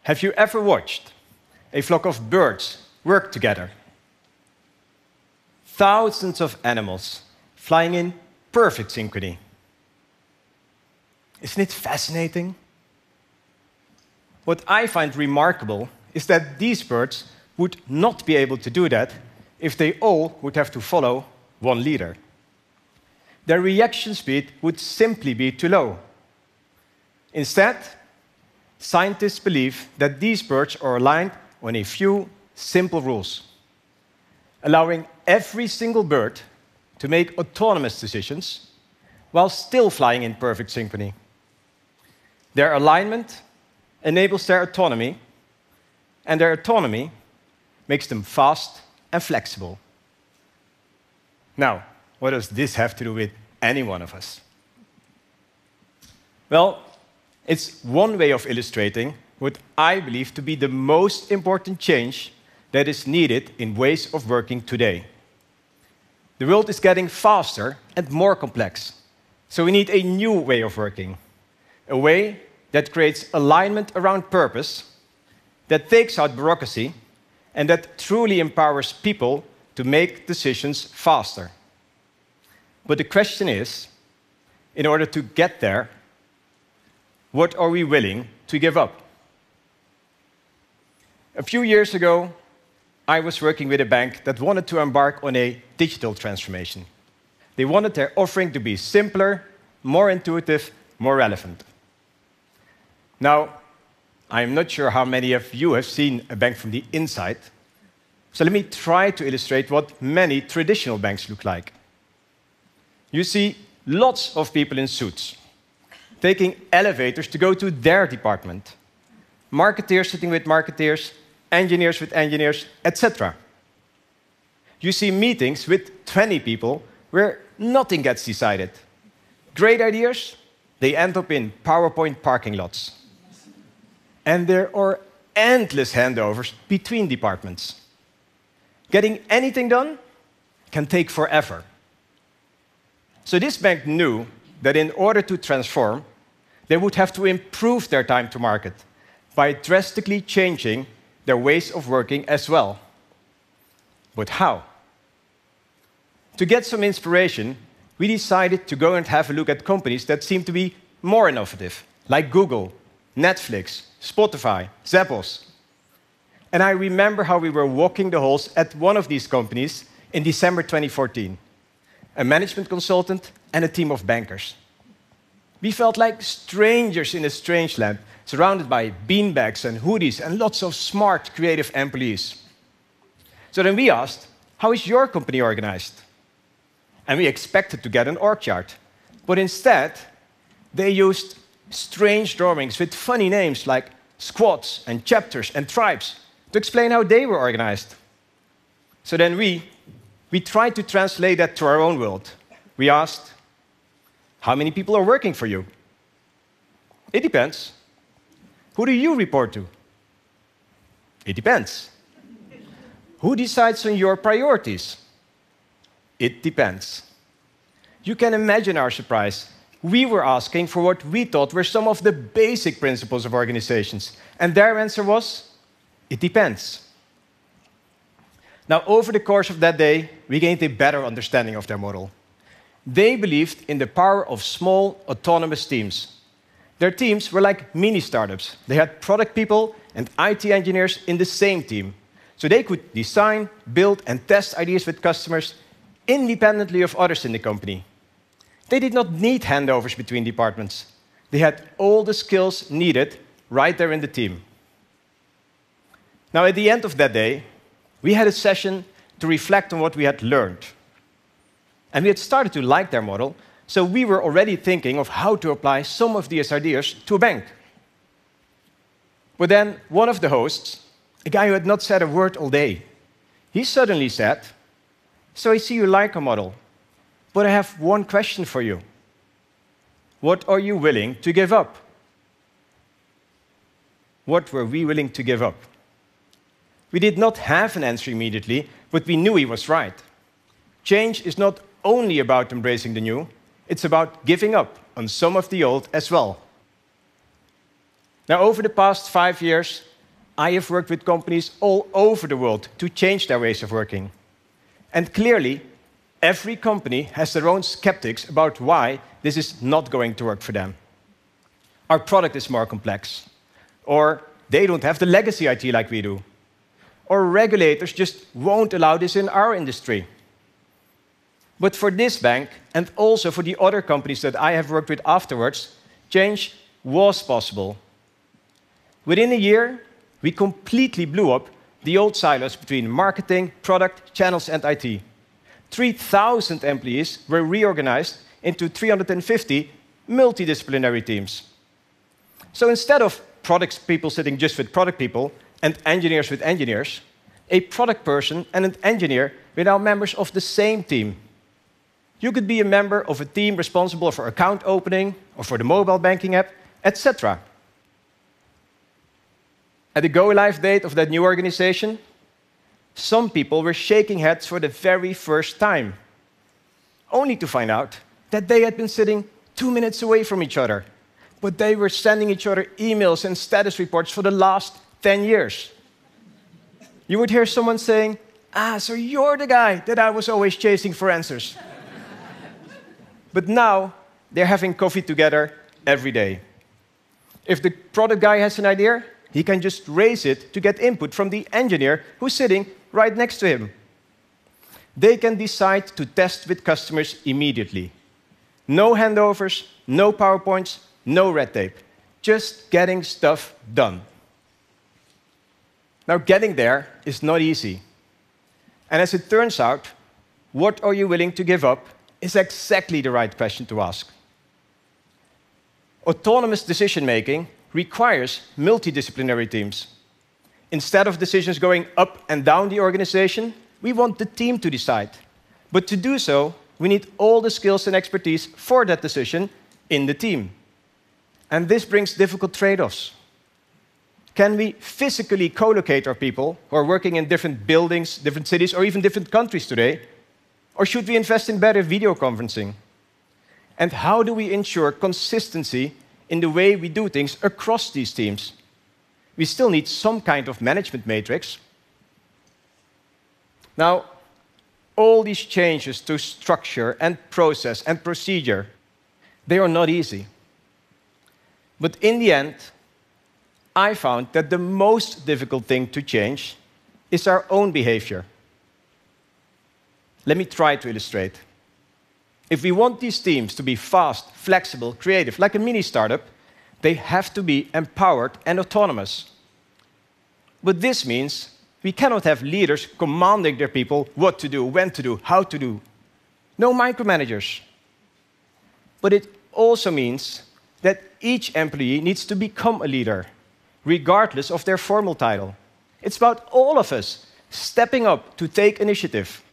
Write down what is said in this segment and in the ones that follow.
Have you ever watched a flock of birds work together? Thousands of animals flying in perfect synchrony. Isn't it fascinating? What I find remarkable is that these birds would not be able to do that if they all would have to follow one leader. Their reaction speed would simply be too low. Instead, scientists believe that these birds are aligned on a few simple rules, allowing every single bird to make autonomous decisions while still flying in perfect synchrony. Their alignment enables their autonomy, and their autonomy makes them fast and flexible. Now, what does this have to do with any one of us? Well, it's one way of illustrating what I believe to be the most important change that is needed in ways of working today. The world is getting faster and more complex, so we need a new way of working, a way that creates alignment around purpose, that takes out bureaucracy, and that truly empowers people to make decisions faster. But the question is, in order to get there, what are we willing to give up? A few years ago, I was working with a bank that wanted to embark on a digital transformation. They wanted their offering to be simpler, more intuitive, more relevant. Now, I'm not sure how many of you have seen a bank from the inside, so let me try to illustrate what many traditional banks look like. You see lots of people in suits, taking elevators to go to their department, marketeers sitting with marketeers, engineers with engineers, etc. You see meetings with 20 people where nothing gets decided. Great ideas, they end up in PowerPoint parking lots. And there are endless handovers between departments. Getting anything done can take forever. So this bank knew that in order to transform, they would have to improve their time to market by drastically changing their ways of working as well. But how? To get some inspiration, we decided to go and have a look at companies that seem to be more innovative, like Google, Netflix, Spotify, Zappos. And I remember how we were walking the halls at one of these companies in December 2014, a management consultant and a team of bankers. We felt like strangers in a strange land, surrounded by beanbags and hoodies and lots of smart, creative employees. So then we asked, how is your company organized? And we expected to get an org chart. But instead, they used strange drawings with funny names like squads and chapters and tribes to explain how they were organized. So then we tried to translate that to our own world. We asked, how many people are working for you? It depends. Who do you report to? It depends. Who decides on your priorities? It depends. You can imagine our surprise. We were asking for what we thought were some of the basic principles of organizations, and their answer was, it depends. Now, over the course of that day, we gained a better understanding of their model. They believed in the power of small, autonomous teams. Their teams were like mini-startups. They had product people and IT engineers in the same team, so they could design, build, and test ideas with customers independently of others in the company. They did not need handovers between departments. They had all the skills needed right there in the team. Now, at the end of that day, we had a session to reflect on what we had learned. And we had started to like their model, so we were already thinking of how to apply some of these ideas to a bank. But then one of the hosts, a guy who had not said a word all day, he suddenly said, so I see you like our model, but I have one question for you. What are you willing to give up? What were we willing to give up? We did not have an answer immediately, but we knew he was right. Change is not only about embracing the new, it's about giving up on some of the old as well. Now, over the past 5 years, I have worked with companies all over the world to change their ways of working. And clearly, every company has their own skeptics about why this is not going to work for them. Our product is more complex, or they don't have the legacy IT like we do, or regulators just won't allow this in our industry. But for this bank, and also for the other companies that I have worked with afterwards, change was possible. Within a year, we completely blew up the old silos between marketing, product, channels, and IT. 3,000 employees were reorganized into 350 multidisciplinary teams. So instead of product people sitting just with product people and engineers with engineers, a product person and an engineer were now members of the same team. You could be a member of a team responsible for account opening or for the mobile banking app, etc. At the go-live date of that new organization, some people were shaking heads for the very first time, only to find out that they had been sitting 2 minutes away from each other, but they were sending each other emails and status reports for the last 10 years. You would hear someone saying, so you're the guy that I was always chasing for answers. But now, they're having coffee together every day. If the product guy has an idea, he can just raise it to get input from the engineer who's sitting right next to him. They can decide to test with customers immediately. No handovers, no PowerPoints, no red tape. Just getting stuff done. Now, getting there is not easy. And as it turns out, what are you willing to give up is exactly the right question to ask. Autonomous decision-making requires multidisciplinary teams. Instead of decisions going up and down the organization, we want the team to decide. But to do so, we need all the skills and expertise for that decision in the team. And this brings difficult trade-offs. Can we physically co-locate our people who are working in different buildings, different cities, or even different countries today? Or should we invest in better video conferencing? And how do we ensure consistency in the way we do things across these teams? We still need some kind of management matrix. Now, all these changes to structure and process and procedure, they are not easy. But in the end, I found that the most difficult thing to change is our own behavior. Let me try to illustrate. If we want these teams to be fast, flexible, creative, like a mini startup, they have to be empowered and autonomous. But this means we cannot have leaders commanding their people what to do, when to do, how to do. No micromanagers. But it also means that each employee needs to become a leader, regardless of their formal title. It's about all of us stepping up to take initiative.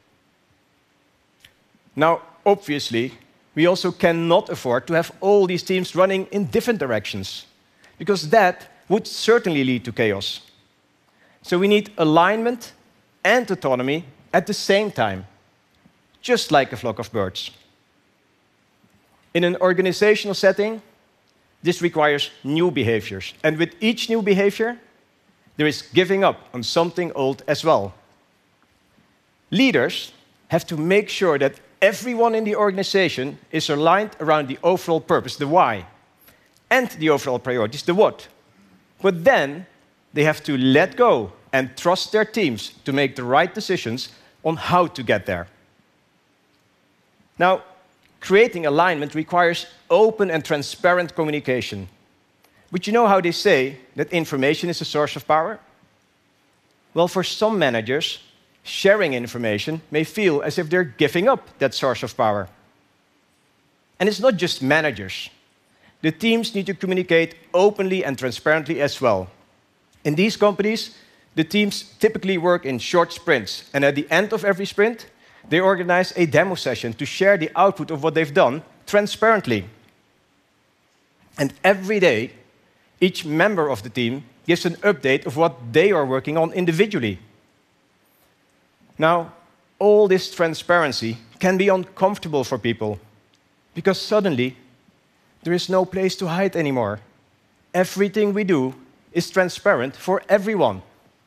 Now, obviously, we also cannot afford to have all these teams running in different directions, because that would certainly lead to chaos. So we need alignment and autonomy at the same time, just like a flock of birds. In an organizational setting, this requires new behaviors. And with each new behavior, there is giving up on something old as well. Leaders have to make sure that everyone in the organization is aligned around the overall purpose, the why, and the overall priorities, the what. But then they have to let go and trust their teams to make the right decisions on how to get there. Now, creating alignment requires open and transparent communication. But you know how they say that information is a source of power? Well, for some managers, sharing information may feel as if they're giving up that source of power. And it's not just managers. The teams need to communicate openly and transparently as well. In these companies, the teams typically work in short sprints, and at the end of every sprint, they organize a demo session to share the output of what they've done transparently. And every day, each member of the team gives an update of what they are working on individually. Now, all this transparency can be uncomfortable for people, because suddenly there is no place to hide anymore. Everything we do is transparent for everyone.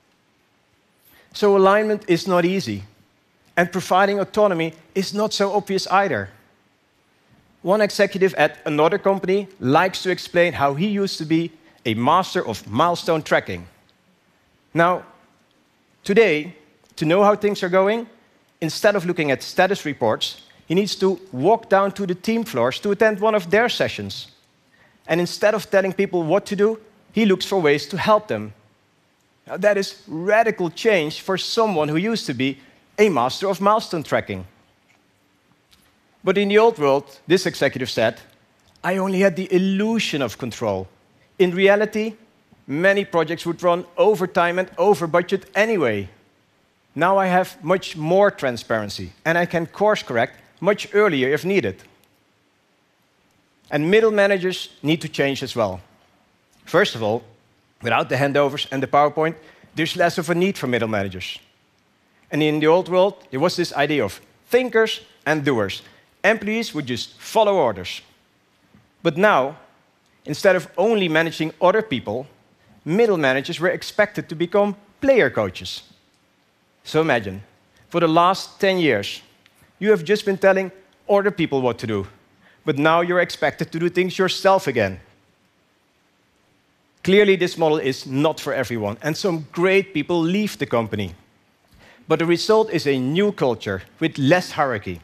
So alignment is not easy, and providing autonomy is not so obvious either. One executive at another company likes to explain how he used to be a master of milestone tracking. Now, today, to know how things are going, instead of looking at status reports, he needs to walk down to the team floors to attend one of their sessions. And instead of telling people what to do, he looks for ways to help them. Now, that is radical change for someone who used to be a master of milestone tracking. But in the old world, this executive said, I only had the illusion of control. In reality, many projects would run over time and over budget anyway. Now I have much more transparency, and I can course correct much earlier if needed. And middle managers need to change as well. First of all, without the handovers and the PowerPoint, there's less of a need for middle managers. And in the old world, there was this idea of thinkers and doers. Employees would just follow orders. But now, instead of only managing other people, middle managers were expected to become player coaches. So imagine, for the last 10 years, you have just been telling other people what to do, but now you're expected to do things yourself again. Clearly, this model is not for everyone, and some great people leave the company. But the result is a new culture with less hierarchy.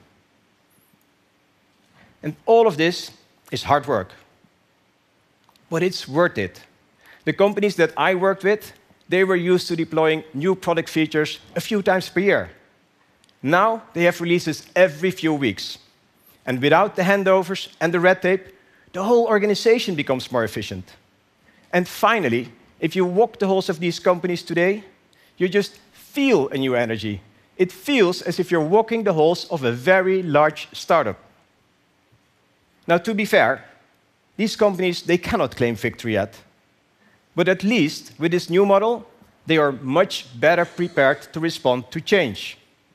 And all of this is hard work. But it's worth it. The companies that I worked with, they were used to deploying new product features a few times per year. Now they have releases every few weeks. And without the handovers and the red tape, the whole organization becomes more efficient. And finally, if you walk the halls of these companies today, you just feel a new energy. It feels as if you're walking the halls of a very large startup. Now, to be fair, these companies, they cannot claim victory yet. But at least with this new model, they are much better prepared to respond to change.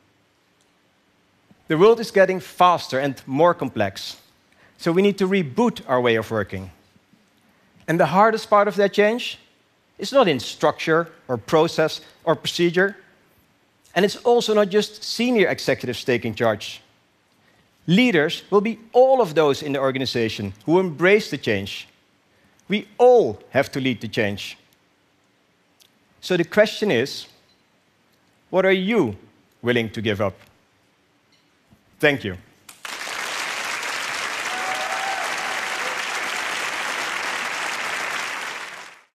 The world is getting faster and more complex, so we need to reboot our way of working. And the hardest part of that change is not in structure or process or procedure, and it's also not just senior executives taking charge. Leaders will be all of those in the organization who embrace the change. We all have to lead the change. So the question is, what are you willing to give up? Thank you.